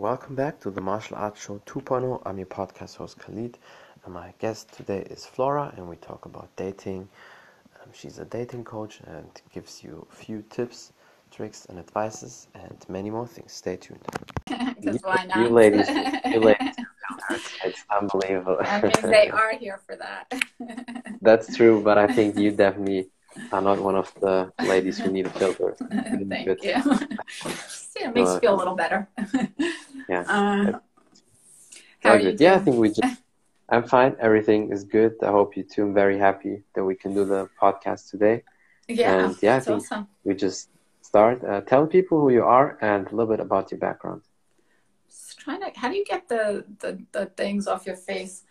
welcome back to the Martial Arts Show 2.0. I'm your podcast host Khalid, and my guest today is Flora, and we talk about dating. She's a dating coach and gives you a few tips, tricks, and advices, and many more things. Stay tuned. Because why not? You ladies, it's unbelievable. I mean, they are here for that. That's true, but I think you definitely are not one of the ladies who need a filter. Thank you. It makes you feel a little better. Yeah. How are you doing? Yeah, I think I'm fine. Everything is good. I hope you too. I'm very happy that we can do the podcast today. Yeah, and yeah, I think awesome. we just start. Tell people who you are and a little bit about your background. Just trying to. How do you get the things off your face?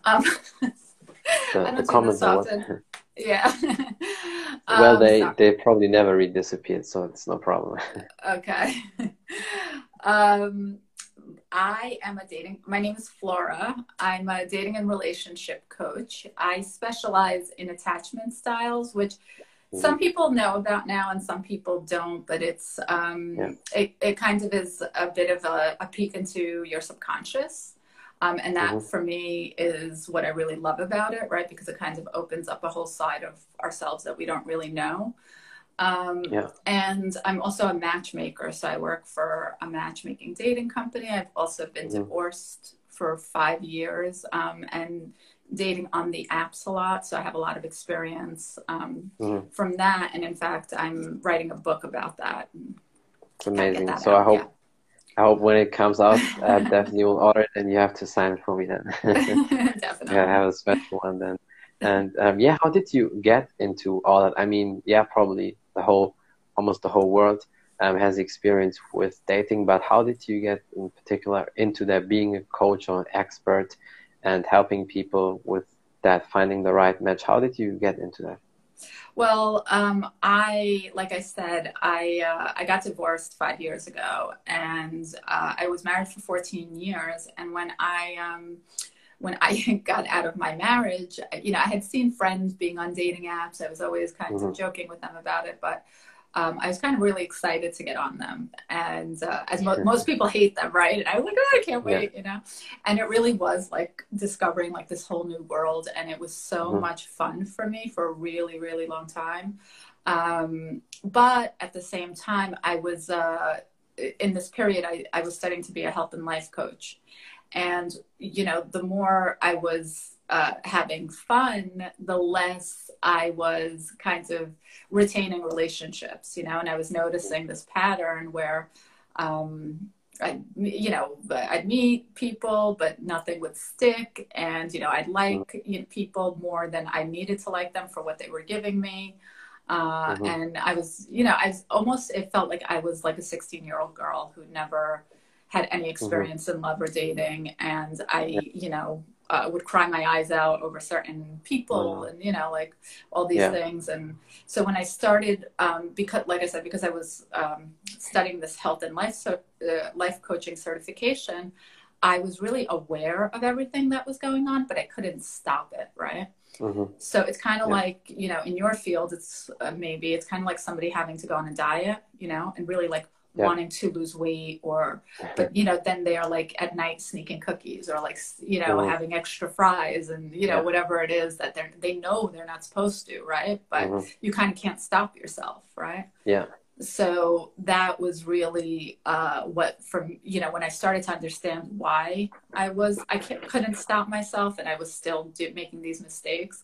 The comments are what? Yeah. Well, they probably never disappeared, so it's no problem. Okay. My name is Flora. I'm a dating and relationship coach. I specialize in attachment styles, which some people know about now and some people don't, but it's it kind of is a bit of a peek into your subconscious. And that for me is what I really love about it, right? Because it kind of opens up a whole side of ourselves that we don't really know. And I'm also a matchmaker. So I work for a matchmaking dating company. I've also been divorced for 5 years and dating on the apps a lot. So I have a lot of experience from that. And in fact, I'm writing a book about that. It's amazing. So I hope when it comes out, I definitely will order it, and you have to sign it for me then. Definitely. Yeah, I have a special one then. And how did you get into all that? I mean, probably almost the whole world has experience with dating, but how did you get in particular into that, being a coach or an expert and helping people with that, finding the right match? How did you get into that? Well, like I said, I got divorced 5 years ago, and I was married for 14 years. And when I got out of my marriage, I had seen friends being on dating apps. I was always kind of joking with them about it, but I was kind of really excited to get on them. And as most people hate them, right? And I was like, oh, I can't wait, And it really was like discovering like this whole new world. And it was so much fun for me for a really, really long time. But at the same time, I was, in this period, I was studying to be a health and life coach. And, the more I was having fun, the less I was kind of retaining relationships, and I was noticing this pattern where, I'd meet people, but nothing would stick. And, I'd like people more than I needed to like them for what they were giving me. And I was it felt like I was like a 16-year-old girl who never had any experience in love or dating. And I, would cry my eyes out over certain people and, like all these things. And so when I started, because I was studying this health and life coaching certification, I was really aware of everything that was going on, but I couldn't stop it. Right. So it's kind of like, in your field, it's maybe it's kind of like somebody having to go on a diet, and really like wanting to lose weight, but then they are like at night sneaking cookies or like having extra fries and whatever it is that they know they're not supposed to, right? But you kind of can't stop yourself, right? So that was really when I started to understand why I couldn't stop myself and I was still making these mistakes.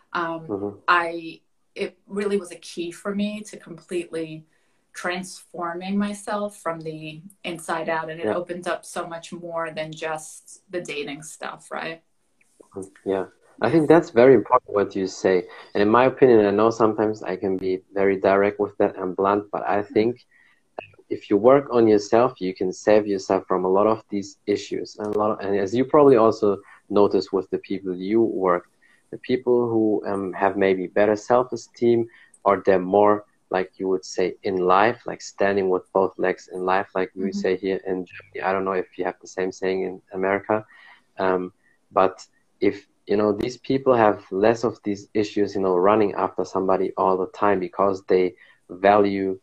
It really was a key for me to completely transforming myself from the inside out, and it opened up so much more than just the dating stuff, right? I think that's very important what you say, and in my opinion, I know sometimes I can be very direct with that and blunt, but I think if you work on yourself, you can save yourself from a lot of these issues, and as you probably also notice with the people you work, the people who have maybe better self-esteem, or they're more, like you would say, in life, like standing with both legs in life, like we say here in Germany. I don't know if you have the same saying in America, but if these people have less of these issues, running after somebody all the time because they value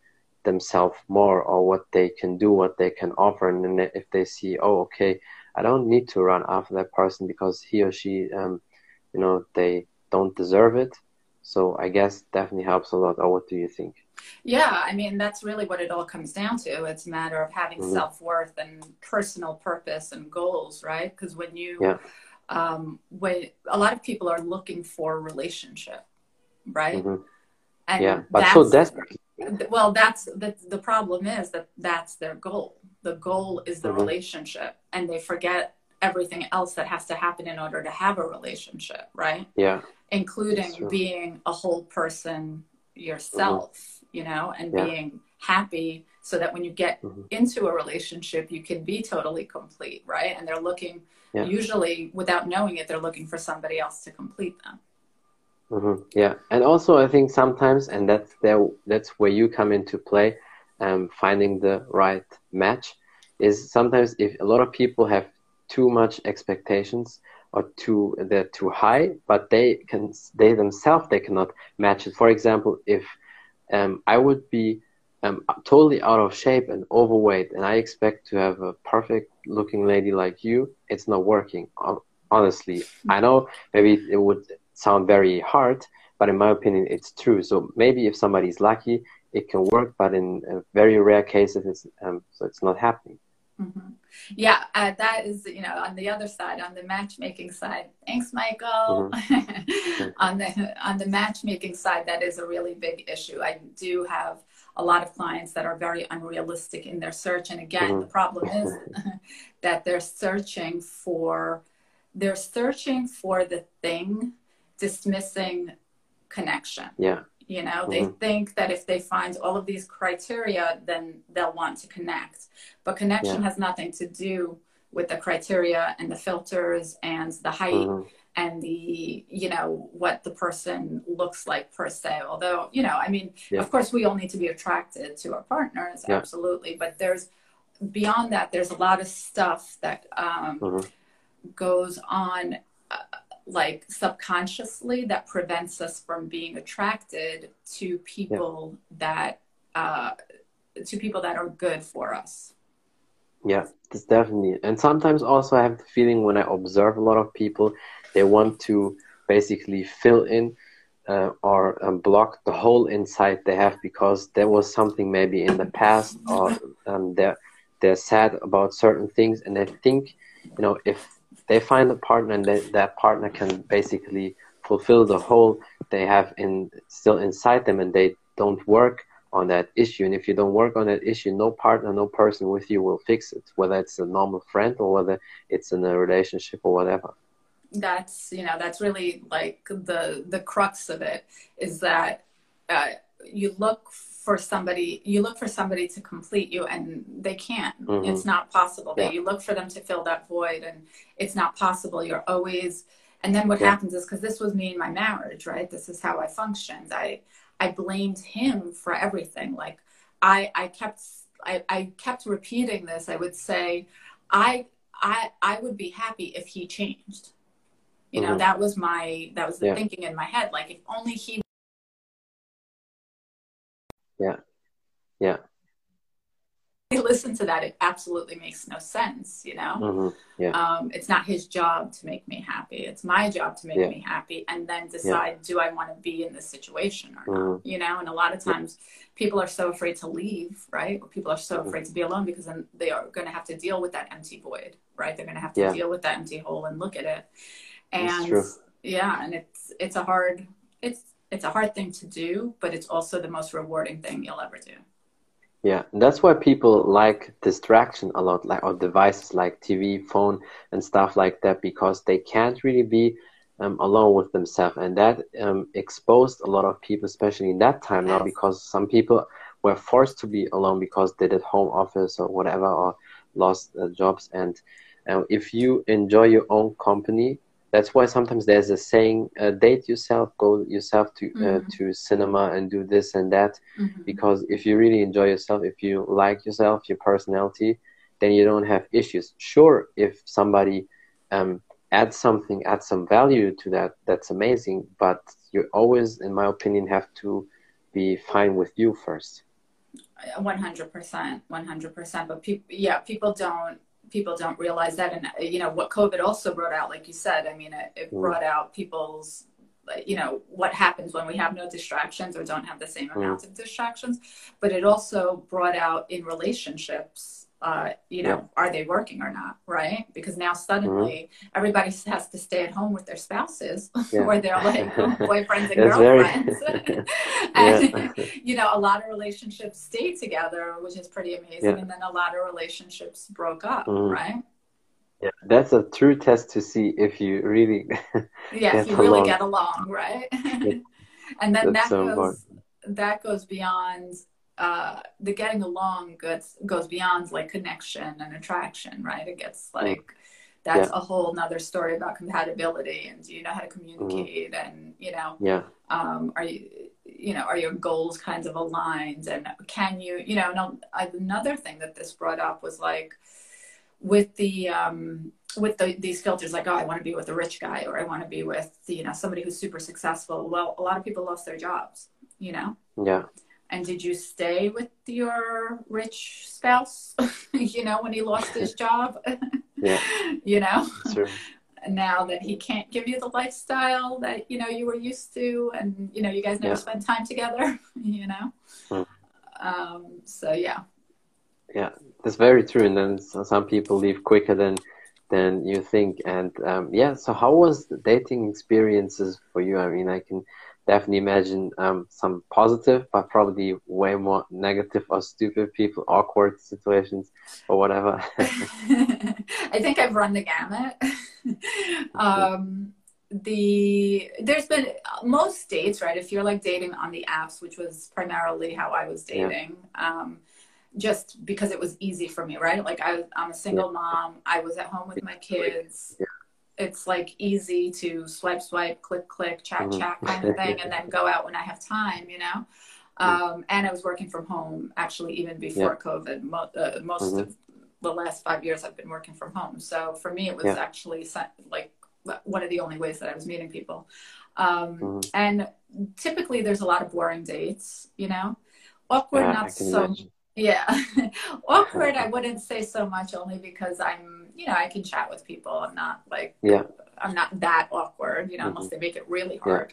themselves more, or what they can do, what they can offer. And then if they see, oh, okay, I don't need to run after that person because he or she, you know, they don't deserve it. So I guess definitely helps a lot. Or what do you think? Yeah, I mean, that's really what it all comes down to. It's a matter of having self-worth and personal purpose and goals, right? Because when you, when a lot of people are looking for a relationship, right? And but so desperately. Well, that's the problem is that that's their goal. The goal is the relationship, and they forget everything else that has to happen in order to have a relationship, right? Yeah. Including being a whole person yourself, you know, and being happy so that when you get into a relationship, you can be totally complete, right? And they're looking, usually without knowing it, they're looking for somebody else to complete them. Yeah, and also I think sometimes, and that's where you come into play, finding the right match, is sometimes if a lot of people have too much expectations, or they're too high, but they themselves they cannot match it. For example, if I would be totally out of shape and overweight, and I expect to have a perfect looking lady like you, it's not working. Honestly, I know maybe it would sound very hard, but in my opinion, it's true. So maybe if somebody's lucky, it can work, but in very rare cases, so it's not happening. Yeah, that is, you know, on the other side, on the matchmaking side. Thanks, Michael. On the matchmaking side, that is a really big issue. I do have a lot of clients that are very unrealistic in their search, and again, the problem is that they're searching for the thing, dismissing connection. Yeah. You know, they think that if they find all of these criteria, then they'll want to connect. But connection has nothing to do with the criteria and the filters and the height and the, you know, what the person looks like per se. Although, you know, I mean, of course, we all need to be attracted to our partners, absolutely. But there's, beyond that, there's a lot of stuff that goes on like subconsciously that prevents us from being attracted to people that are good for us. Yeah, that's definitely. And sometimes also I have the feeling when I observe a lot of people, they want to basically fill in or block the hole inside they have because there was something maybe in the past, or they're sad about certain things, and they think, you know, if they find a partner and that partner can basically fulfill the hole they have still inside them, and they don't work on that issue. And if you don't work on that issue, no partner, no person with you will fix it, whether it's a normal friend or whether it's in a relationship or whatever. That's, you know, that's really like the crux of it, is that you look for somebody to complete you, and they can't. It's not possible. You look for them to fill that void, and it's not possible. You're always, and then what happens is, because this was me in my marriage, right? This is how I functioned. I blamed him for everything. Like I kept repeating this. I would say, I would be happy if he changed. You know, that was the thinking in my head. Like, if only he. Yeah. Listen to that, it absolutely makes no sense, you know. It's not his job to make me happy, it's my job to make me happy, and then decide, do I want to be in this situation or not, you know. And a lot of times people are so afraid to leave, right? Or people are so afraid to be alone, because then they are going to have to deal with that empty void, right? They're going to have to deal with that empty hole and look at it. And and it's a hard thing to do, but it's also the most rewarding thing you'll ever do. Yeah, and that's why people like distraction a lot, like, or devices like TV, phone, and stuff like that, because they can't really be alone with themselves. And that exposed a lot of people, especially in that time now, because some people were forced to be alone because they did home office or whatever, or lost jobs. And if you enjoy your own company, that's why sometimes there's a saying, date yourself, go yourself to cinema and do this and that. Because if you really enjoy yourself, if you like yourself, your personality, then you don't have issues. Sure, if somebody adds some value to that, that's amazing. But you always, in my opinion, have to be fine with you first. 100%, 100%. But people don't realize that. And, you know, what COVID also brought out, like you said, I mean, it brought out people's, you know, what happens when we have no distractions or don't have the same amount of distractions. But it also brought out in relationships, you know, are they working or not, right? Because now suddenly everybody has to stay at home with their spouses or their like boyfriends and girlfriends. And, you know, a lot of relationships stayed together, which is pretty amazing. And then a lot of relationships broke up, right? Yeah, that's a true test to see if you really if you really get along, right? And then that goes beyond the getting along goes beyond like connection and attraction, right? It gets like that's a whole nother story about compatibility, and do you know how to communicate, and you know are your goals kinds of aligned, and can you know another thing that this brought up was like with these filters, like, oh, I want to be with a rich guy, or I want to be with, you know, somebody who's super successful. Well, a lot of people lost their jobs, you know? Yeah. And did you stay with your rich spouse, you know, when he lost his job? You know? Sure. Now that he can't give you the lifestyle that, you know, you were used to, and, you know, you guys never spent time together, you know? So, yeah. Yeah, that's very true. And then some people leave quicker than you think. And so how was the dating experiences for you? I mean, I can definitely imagine some positive, but probably way more negative or stupid people, awkward situations or whatever. I think I've run the gamut. There's been most dates, right? If you're like dating on the apps, which was primarily how I was dating, just because it was easy for me, right? Like I'm a single mom. I was at home with my kids. It's like easy to swipe, click, chat kind of thing, and then go out when I have time, you know? And I was working from home actually even before COVID. Most of the last 5 years I've been working from home. So for me, it was actually like one of the only ways that I was meeting people. And typically there's a lot of boring dates, you know? Awkward, not so imagine. Awkward, I wouldn't say so much, only because I'm, you know, I can chat with people. I'm not like, I'm not that awkward, you know, unless they make it really hard.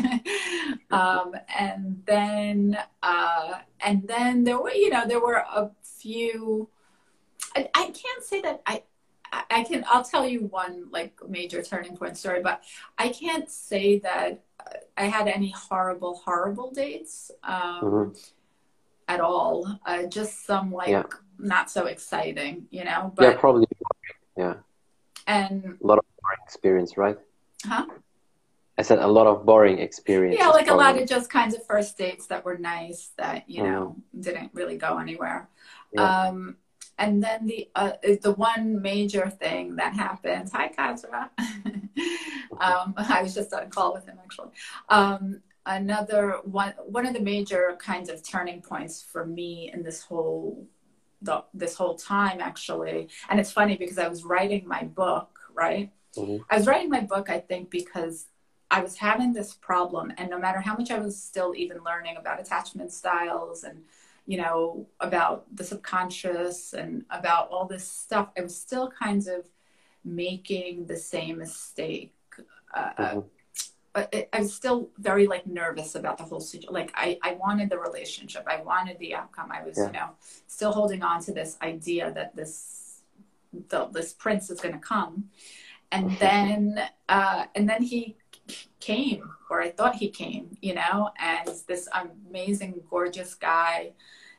And then there were, you know, there were a few, I can't say that I'll tell you one like major turning point story, but I can't say that I had any horrible dates. At all, just some like not so exciting, you know. But probably, and a lot of boring experience, right? Huh? I said a lot of boring experience. Yeah, like probably. A lot of just kinds of first dates that were nice that you know didn't really go anywhere. And then the one major thing that happened. Hi, Kazra. I was just on a call with him actually. Another one of the major kinds of turning points for me in this whole time actually, and it's funny because I was writing my book, right? I was writing my book, I think, because I was having this problem, and no matter how much I was still even learning about attachment styles and, you know, about the subconscious and about all this stuff, I was still kind of making the same mistake. But I was still very like nervous about the whole situation. Like I wanted the relationship. I wanted the outcome. I was, you know, still holding on to this idea that this prince is going to come. And then he came, or I thought he came, you know, and this amazing, gorgeous guy,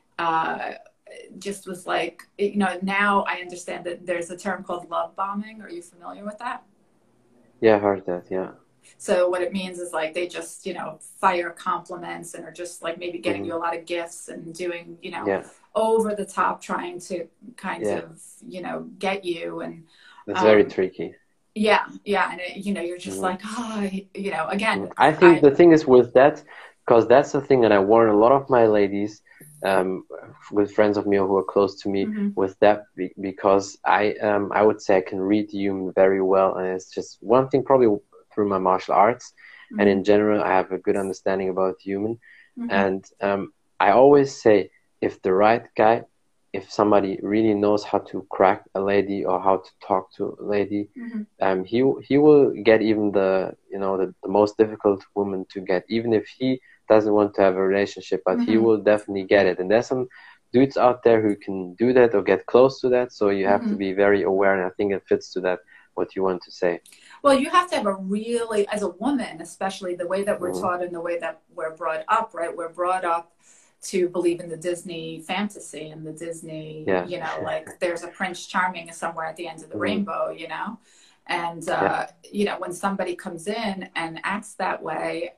just was like, you know, now I understand that there's a term called love bombing. Are you familiar with that? Yeah, I heard that. Yeah. So what it means is like they just, you know, fire compliments and are just like maybe getting you a lot of gifts and doing, you know, over the top, trying to kind of, you know, get you. And it's very tricky. Yeah. And you know, you're just like, you know, again. I think the thing is with that, because that's the thing that I warn a lot of my ladies with friends of me who are close to me with that, because I would say I can read human very well, and it's just one thing probably through my martial arts, and in general I have a good understanding about human, and I always say if the right guy, if somebody really knows how to crack a lady or how to talk to a lady, he will get even the, you know, the most difficult woman to get, even if he doesn't want to have a relationship, but he will definitely get it. And there's some dudes out there who can do that or get close to that. So you have to be very aware, and I think it fits to that, what you want to say. Well, you have to have a really, as a woman, especially the way that we're taught and the way that we're brought up, right? We're brought up to believe in the Disney fantasy and the Disney, you know, like there's a Prince Charming somewhere at the end of the rainbow, you know? And, you know, when somebody comes in and acts that way,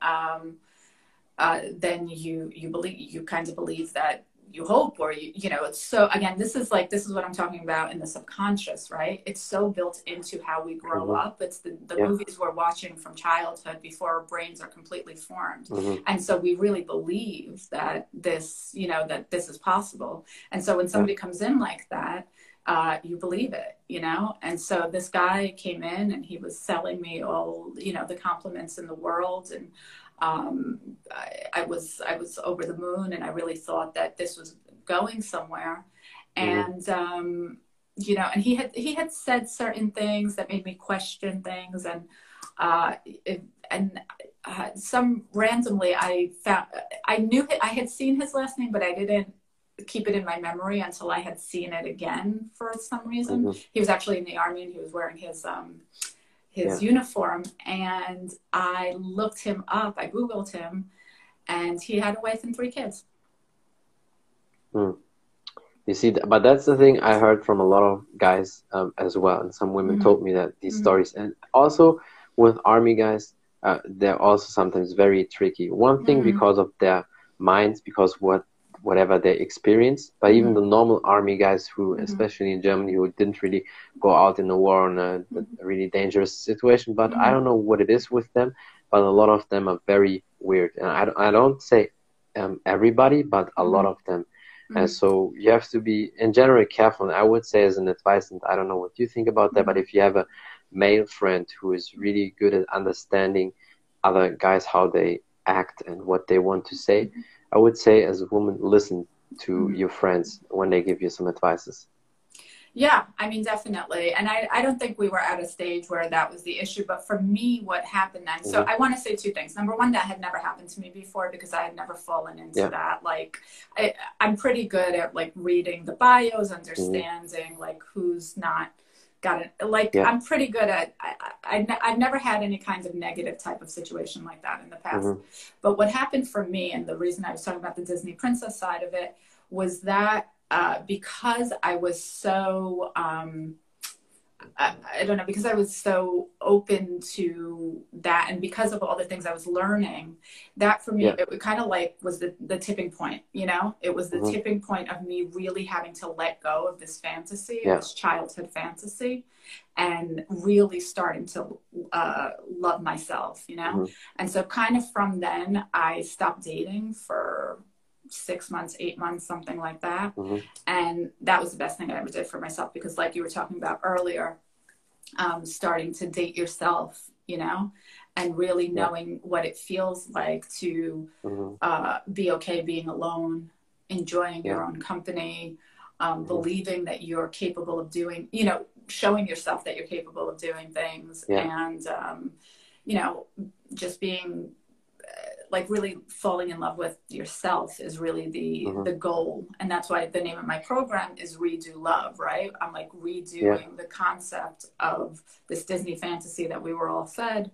then you kind of believe that, you hope, or you know, it's so, again, this is what I'm talking about in the subconscious, right? It's so built into how we grow up. It's the movies we're watching from childhood before our brains are completely formed. And so we really believe that this, you know, that this is possible. And so when somebody comes in like that, you believe it, you know? And so this guy came in and he was selling me all, you know, the compliments in the world. And I was over the moon, and I really thought that this was going somewhere. And, you know, and he had said certain things that made me question things. And, some randomly I had seen his last name, but I didn't keep it in my memory until I had seen it again for some reason. He was actually in the army, and he was wearing his uniform, and I looked him up. I Googled him, and he had a wife and 3 kids. You see, but that's the thing I heard from a lot of guys as well, and some women told me that these stories. And also with army guys, they're also sometimes very tricky. One thing because of their minds, because whatever they experience, but even the normal army guys who, especially in Germany, who didn't really go out in the war on a really dangerous situation, but I don't know what it is with them, but a lot of them are very weird. And I don't say everybody, but a lot of them. And so you have to be, in general, careful. And I would say as an advice, and I don't know what you think about that, but if you have a male friend who is really good at understanding other guys, how they act and what they want to say, I would say as a woman, listen to your friends when they give you some advices. Yeah, I mean, definitely. And I don't think we were at a stage where that was the issue. But for me, what happened then, so I want to say 2 things. Number one, that had never happened to me before, because I had never fallen into that. Like, I'm pretty good at like reading the bios, understanding like who's not got it. Like, I'm pretty good at, I've never had any kind of negative type of situation like that in the past. But what happened for me, and the reason I was talking about the Disney princess side of it, was that because I was so, I don't know, because I was so open to that, and because of all the things I was learning, that for me, it kind of like was the tipping point, you know? It was the tipping point of me really having to let go of this fantasy, this childhood fantasy, and really starting to love myself, you know? And so kind of from then, I stopped dating for 6 months, 8 months, something like that. And that was the best thing I ever did for myself, because like you were talking about earlier, starting to date yourself, you know, and really knowing what it feels like to be okay being alone, enjoying your own company, believing that you're capable of doing, you know, showing yourself that you're capable of doing things, and, you know, just being like really falling in love with yourself is really the goal. And that's why the name of my program is Redo Love, right? I'm like redoing the concept of this Disney fantasy that we were all fed,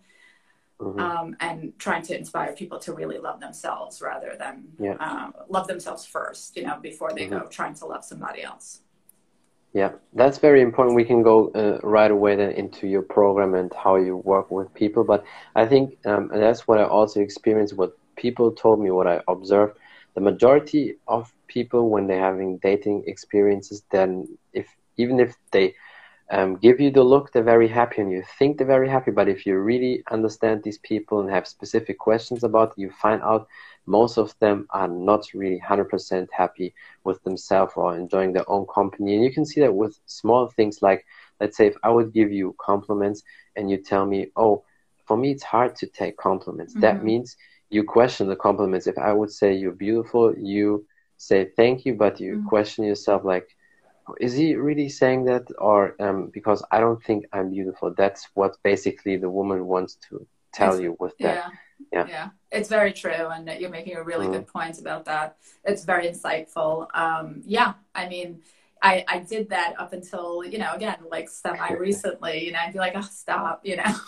and trying to inspire people to really love themselves rather than love themselves first, you know, before they go trying to love somebody else. Yeah, that's very important. We can go right away then into your program and how you work with people. But I think, and that's what I also experienced, what people told me, what I observed, the majority of people, when they're having dating experiences, then even if they give you the look, they're very happy, and you think they're very happy. But if you really understand these people and have specific questions about it, you find out most of them are not really 100% happy with themselves or enjoying their own company. And you can see that with small things like, let's say if I would give you compliments and you tell me, oh, for me it's hard to take compliments. That means you question the compliments. If I would say you're beautiful, you say thank you, but you question yourself like, is he really saying that? Or because I don't think I'm beautiful. That's what basically the woman wants to tell you with that. Yeah, it's very true, and you're making a really good point about that. It's very insightful. Yeah, I mean, I did that up until, you know, again, like semi recently, you know, I'd be like, oh, stop, you know.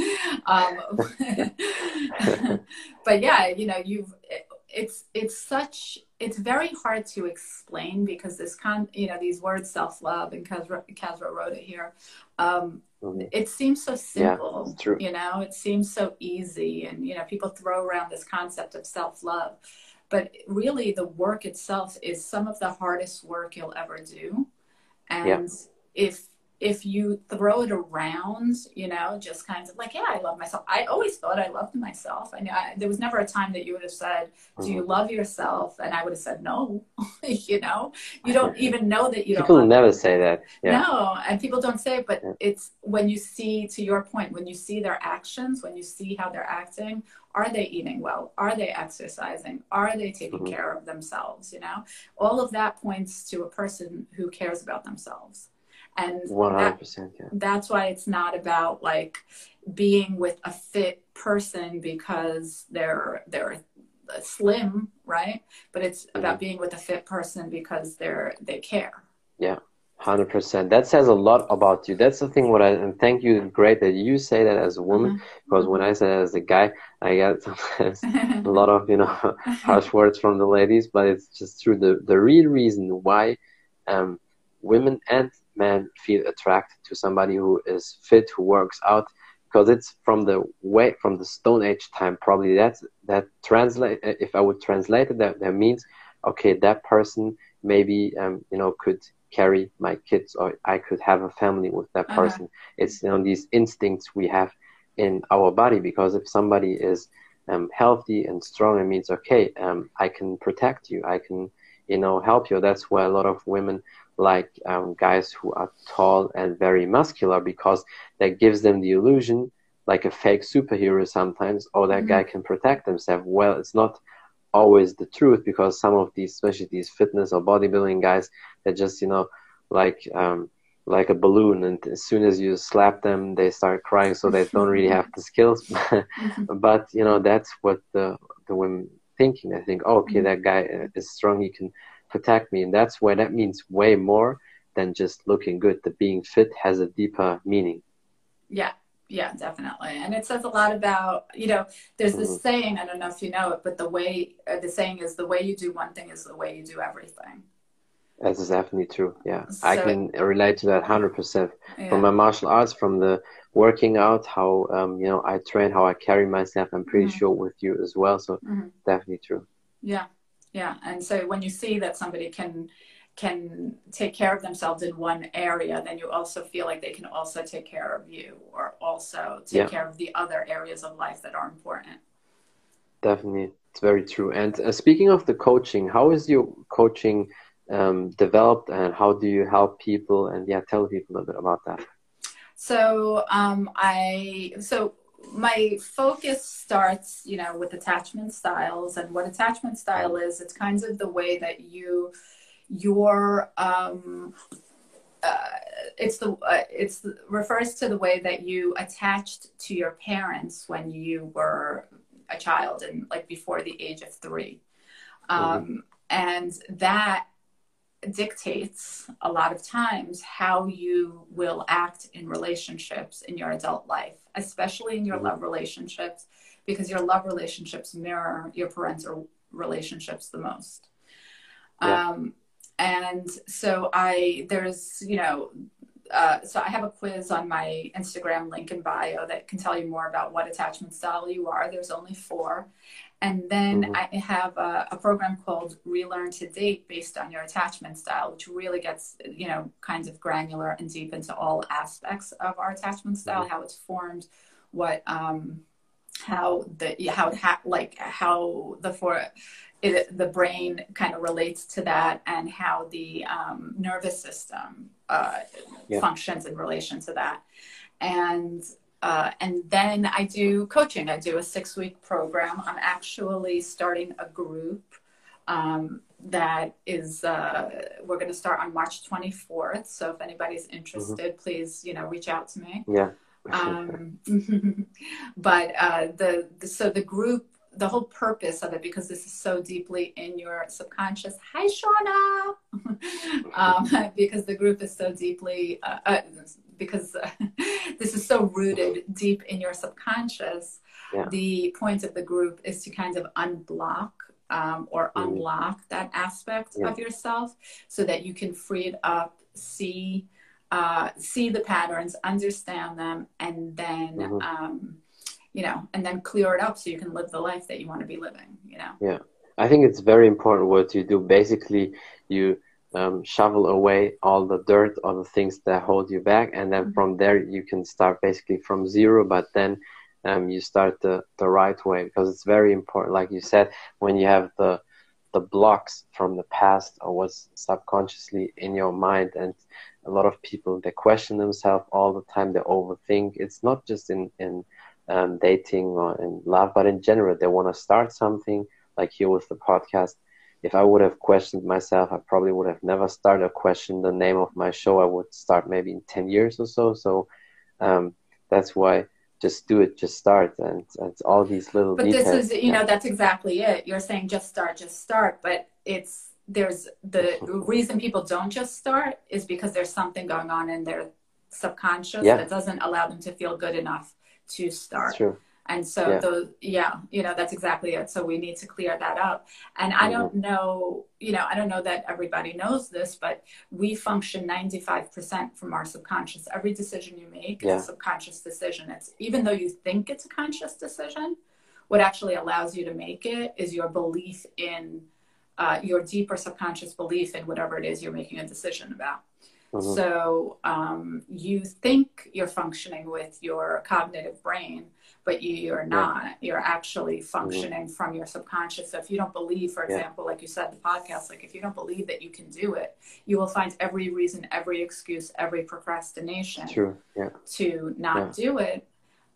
But yeah, you know, it's very hard to explain because you know, these words self-love, and Kasra wrote it here. It seems so simple, you know, it seems so easy. And, you know, people throw around this concept of self-love, but really the work itself is some of the hardest work you'll ever do. And if you throw it around, you know, just kind of like, yeah, I love myself. I always thought I loved myself. I know there was never a time that you would have said, do you love yourself? And I would have said, no. You know, you don't even know that you don't. People never say that. No, and people don't say it, but it's when you see, to your point, when you see their actions, when you see how they're acting, are they eating well? Are they exercising? Are they taking care of themselves? You know, all of that points to a person who cares about themselves. And 100%, that's why it's not about like being with a fit person because they're slim, right? But it's about being with a fit person because they care. Yeah, 100%. That says a lot about you. That's the thing. And thank you. Great that you say that as a woman, because when I say that as a guy, I get sometimes a lot of, you know, harsh words from the ladies. But it's just true. The real reason why women and men feel attracted to somebody who is fit, who works out, because it's from the Stone Age time, probably. That translate, if I would translate it, that means, okay, that person maybe you know, could carry my kids, or I could have a family with that person. It's, you know, these instincts we have in our body, because if somebody is healthy and strong, it means, okay, I can protect you, I can, you know, help you. That's why a lot of women like guys who are tall and very muscular, because that gives them the illusion, like a fake superhero sometimes, or that guy can protect himself. Well, it's not always the truth, because some of these, especially these fitness or bodybuilding guys, they're just, you know, like a balloon, and as soon as you slap them, they start crying, so they don't really have the skills. But, you know, that's what the women thinking. They think, oh, okay, that guy is strong, he can protect me. And that's why that means way more than just looking good. The being fit has a deeper meaning. Yeah, definitely. And it says a lot about, you know, there's this saying, I don't know if you know it, but the saying is, the way you do one thing is the way you do everything. That's definitely true. Yeah, so I can relate to that 100%. From my martial arts, from the working out, how you know, I train, how I carry myself. I'm pretty sure with you as well. So definitely true. Yeah. And so when you see that somebody can take care of themselves in one area, then you also feel like they can also take care of you, or also take care of the other areas of life that are important. Definitely, it's very true. And speaking of the coaching, how is your coaching developed, and how do you help people? And tell people a little bit about that. So my focus starts, you know, with attachment styles. And what attachment style is, it's kind of the way that refers to the way that you attached to your parents when you were a child, and like before the age of 3. And that dictates a lot of times how you will act in relationships in your adult life, especially in your love relationships, because your love relationships mirror your parental relationships the most. And so so I have a quiz on my Instagram link in bio that can tell you more about what attachment style you are. There's only 4. And then I have a program called Relearn to Date, based on your attachment style, which really gets, you know, kind of granular and deep into all aspects of our attachment style, how it's formed, how the brain kind of relates to that, and how the nervous system functions in relation to that. And then I do coaching. I do a 6-week program. I'm actually starting a group that is, we're going to start on March 24th. So if anybody's interested, please, reach out to me. Yeah. But so the group, the whole purpose of it, because this is so deeply in your subconscious. Hi, Shauna. Because the group is so deeply, because this is so rooted deep in your subconscious. Yeah. The point of the group is to kind of unblock or unlock that aspect of yourself, so that you can free it up, see the patterns, understand them, and then and then clear it up so you can live the life that you want to be living. Yeah, I think it's very important what you do. Basically, you shovel away all the dirt, all the things that hold you back, and then from there you can start basically from zero. But then you start the right way, because it's very important, like you said, when you have the blocks from the past or what's subconsciously in your mind. And a lot of people, they question themselves all the time, they overthink. It's not just in dating or in love, but in general, they want to start something, like here with the podcast. If I would have questioned myself, I probably would have never started a question the name of my show. I would start maybe in 10 years or so. So that's why, just do it, just start. And it's all these little details. But this is, that's exactly it. You're saying just start. But there's the reason people don't just start is because there's something going on in their subconscious that doesn't allow them to feel good enough to start. That's true. And so that's exactly it. So we need to clear that up. And I don't know, I don't know that everybody knows this, but we function 95% from our subconscious. Every decision you make is a subconscious decision. It's, even though you think it's a conscious decision, what actually allows you to make it is your belief in your deeper subconscious belief in whatever it is you're making a decision about. So you think you're functioning with your cognitive brain, but you're not. You're actually functioning from your subconscious. So if you don't believe, for example, like you said, the podcast, like if you don't believe that you can do it, you will find every reason, every excuse, every procrastination to not do it.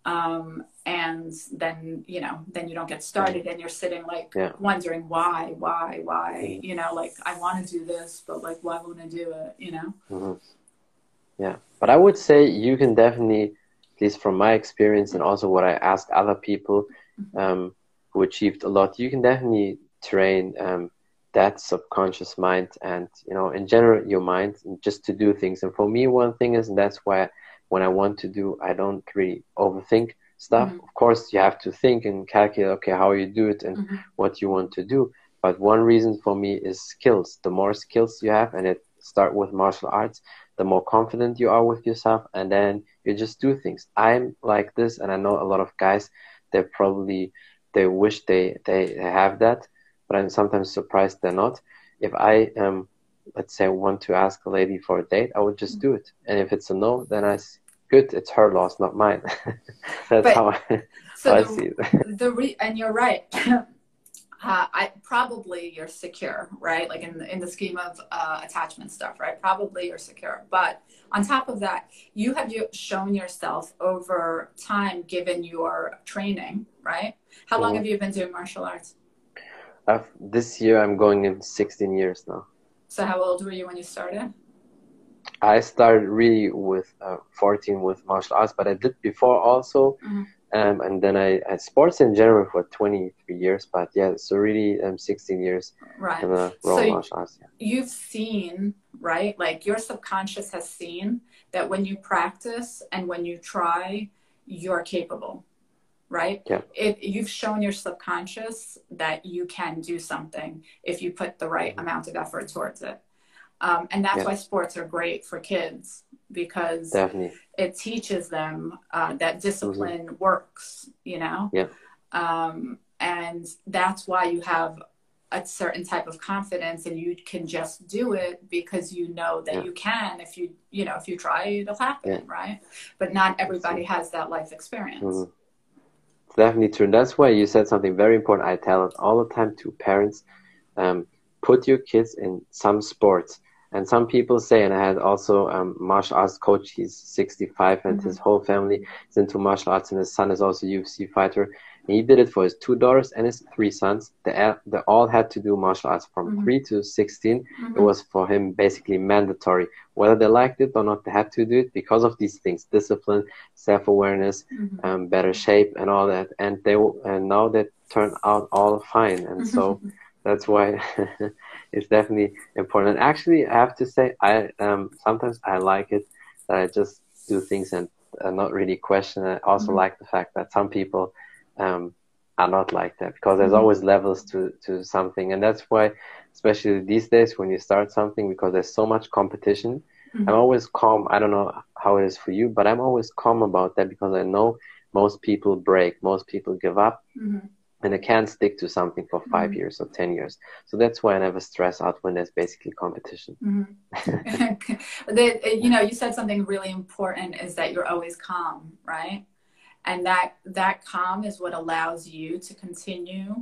And then, then you don't get started, and you're sitting like wondering why, like I want to do this, but like, why won't I do it, Yeah. But I would say you can definitely, at least from my experience and also what I ask other people who achieved a lot, you can definitely train that subconscious mind and, in general, your mind, just to do things. And for me, one thing is, and that's why when I want to do, I don't really overthink stuff. Of course, you have to think and calculate, okay, how you do it and what you want to do. But one reason for me is skills. The more skills you have, and it start with martial arts, the more confident you are with yourself, and then you just do things. I'm like this, and I know a lot of guys, they wish they have that, but I'm sometimes surprised they're not. If I let's say want to ask a lady for a date, I would just do it. And if it's a no, then good, it's her loss, not mine. That's how I see it. And you're right. Probably you're secure, right? Like in the scheme of attachment stuff, right? Probably you're secure. But on top of that, you have shown yourself over time, given your training, right? How long have you been doing martial arts? This year I'm going in 16 years now. So how old were you when you started? I started really with 14 with martial arts, but I did before also. And then I sports in general for 23 years, but so really 16 years in the raw martial arts. You've seen, right? Like your subconscious has seen that when you practice and when you try, you're capable, right? Yeah. You've shown your subconscious that you can do something if you put the right amount of effort towards it. And that's why sports are great for kids, because it teaches them that discipline works, and that's why you have a certain type of confidence, and you can just do it because you know that you can. If you try, it'll happen, right? But not everybody has that life experience. It's definitely true. That's why you said something very important. I tell it all the time to parents, put your kids in some sports. And some people say, and I had also a martial arts coach, he's 65 and his whole family is into martial arts, and his son is also a UFC fighter. And he did it for his 2 daughters and his 3 sons. They all had to do martial arts from 3 to 16. It was for him basically mandatory. Whether they liked it or not, they had to do it because of these things: discipline, self-awareness, better shape, and all that. And now they turn out all fine. And so that's why it's definitely important. And actually, I have to say, I sometimes I like it that I just do things and not really question. I also like the fact that some people are not like that, because there's always levels to something. And that's why, especially these days when you start something, because there's so much competition, I'm always calm. I don't know how it is for you, but I'm always calm about that, because I know most people break, most people give up, and they can't stick to something for 5 years or 10 years. So that's why I never stress out when there's basically competition. You know, you said something really important, is that you're always calm, right? And that calm is what allows you to continue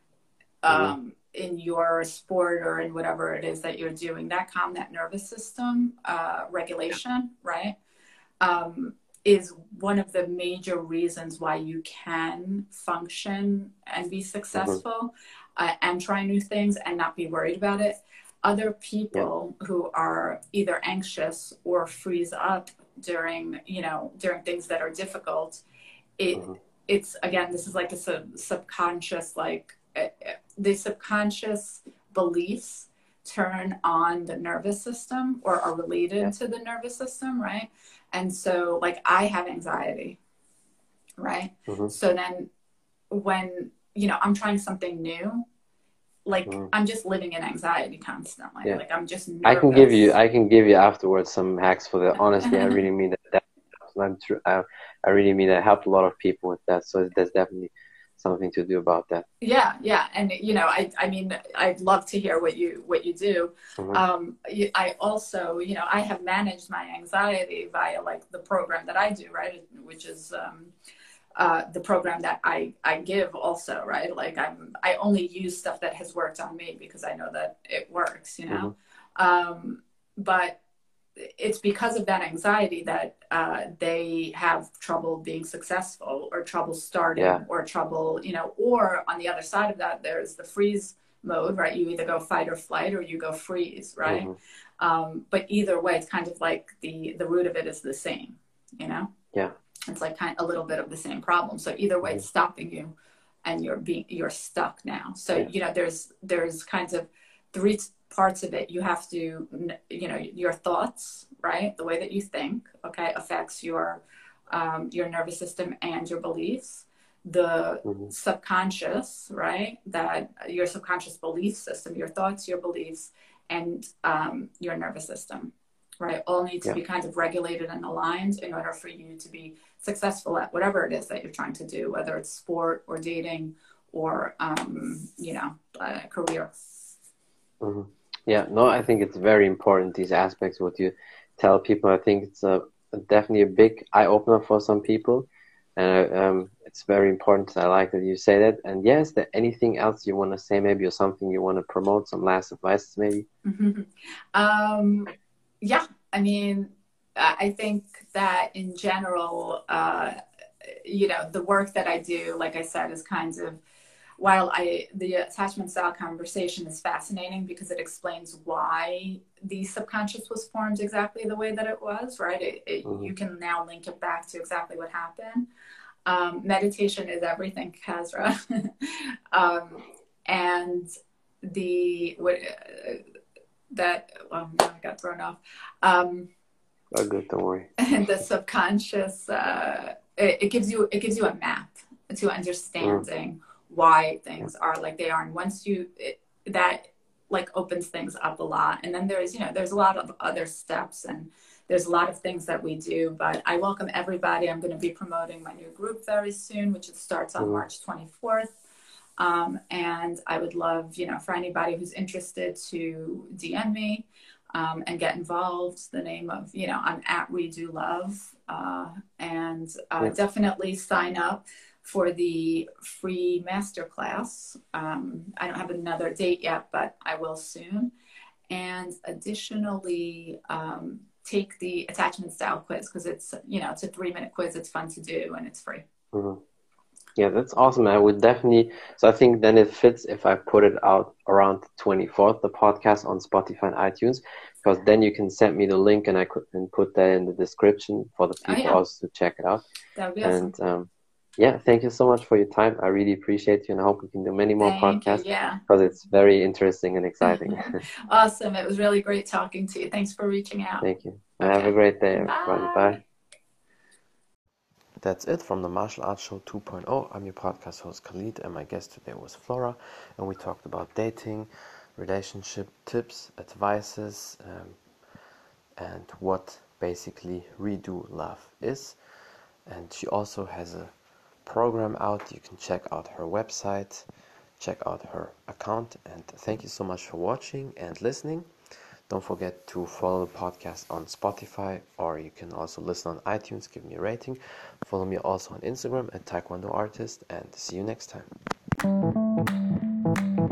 in your sport or in whatever it is that you're doing. That calm, that nervous system regulation, right, is one of the major reasons why you can function and be successful and try new things and not be worried about it. Other people who are either anxious or freeze up during things that are difficult, it's, again, this is like a subconscious, like the subconscious beliefs turn on the nervous system, or are related to the nervous system, right? And so, like, I have anxiety, right? So then when, I'm trying something new, like, I'm just living in anxiety constantly. Like, I'm just nervous. I can give you afterwards some hacks for that. Honestly, I really mean that. I'm true. I really mean that. I helped a lot of people with that. So there's definitely something to do about that. Yeah. And, I mean, I'd love to hear what you do. I also, I have managed my anxiety via, like, the program that I do, right? Which is the program that I give also, right? Like, I only use stuff that has worked on me, because I know that it works, but it's because of that anxiety that they have trouble being successful, or trouble starting, or trouble, or on the other side of that, there's the freeze mode, right? You either go fight or flight, or you go freeze, right? But either way, it's kind of like the root of it is the same, It's like kind of a little bit of the same problem. So either way, it's stopping you, and you're stuck now. So, there's kinds of three parts of it. You have to, your thoughts, right? The way that you think, affects your nervous system and your beliefs. The subconscious, right? That your subconscious belief system, your thoughts, your beliefs, and your nervous system, right? All need to be kind of regulated and aligned in order for you to be successful at whatever it is that you're trying to do, whether it's sport or dating or, career. Yeah, no, I think it's very important, these aspects, what you tell people. I think it's definitely a big eye-opener for some people. And it's very important. I like that you say that. And yes, there anything else you want to say, maybe, or something you want to promote, some last advice, maybe? Yeah, I mean, I think that in general, the work that I do, like I said, is kind of, while the attachment style conversation is fascinating, because it explains why the subconscious was formed exactly the way that it was, right? You can now link it back to exactly what happened. Meditation is everything, Kasra. And now I got thrown off. Oh, good, don't worry. The subconscious, it gives you a map to understanding why things are like they are, and once that like opens things up a lot. And then there's a lot of other steps, and there's a lot of things that we do. But I welcome everybody. I'm going to be promoting my new group very soon, which starts on March 24th. And I would love, for anybody who's interested to DM me and get involved. The name of, I'm at We Do Love, and definitely sign up for the free masterclass. I don't have another date yet, but I will soon. And additionally, take the attachment style quiz, because it's, it's a 3-minute quiz. It's fun to do, and it's free. Yeah, that's awesome. I would definitely. So I think then it fits if I put it out around the 24th, the podcast on Spotify and iTunes, because then you can send me the link and I could and put that in the description for the people also to check it out. That would be and awesome. Yeah, thank you so much for your time. I really appreciate you, and I hope we can do many more podcasts because it's very interesting and exciting. Awesome. It was really great talking to you. Thanks for reaching out. Thank you. Okay. Have a great day, everybody. Bye. That's it from the Martial Arts Show 2.0. I'm your podcast host Khalid, and my guest today was Flora, and we talked about dating, relationship tips, advices, and what basically redo love is. And she also has a program out. You can check out her website, check out her account, and thank you so much for watching and listening. Don't forget to follow the podcast on Spotify, or you can also listen on iTunes. Give me a rating. Follow me also on Instagram at Taekwondo Artist, and see you next time.